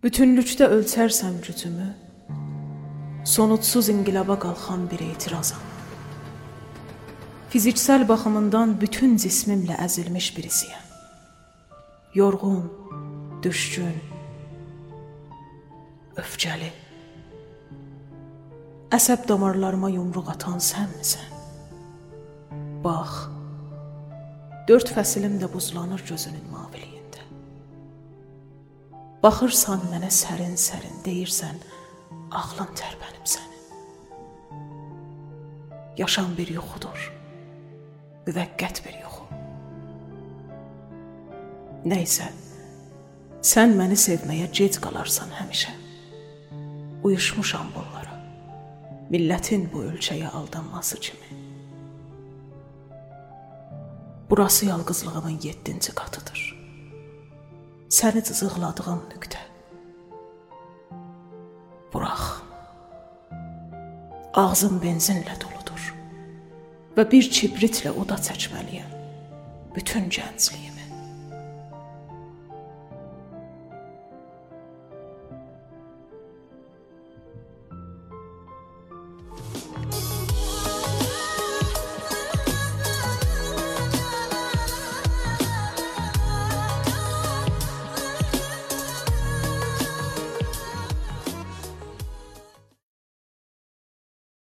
Bütünlükdə ölçərsəm gücümü, sonudsuz inqilaba qalxan bir etirazam. Fiziksel baxımından bütün cismimlə əzilmiş birisiyəm. Yorğun, düşkün, öfkəli. Əsəb damarlarıma yumruq atan sənmisən. Bax, 4 fəsilim də buzlanır gözünün maviliyində. Baxırsan mənə sərin-sərin, deyirsən, ağlın tərpənib sənin. Yaşam bir yuxudur, müvəqqət bir yuxu. Nəysə, sən məni sevməyə gec qalarsan həmişə. Uyuşmuşam bunlara, millətin bu ölçəyə aldanması kimi. Burası yalqızlığımın 7-ci qatıdır. Səni cızıqladığım nöqtə. Burax. Ağzım benzinlə doludur və bir kibritlə oda çəkməliyəm bütün gəncliyimi.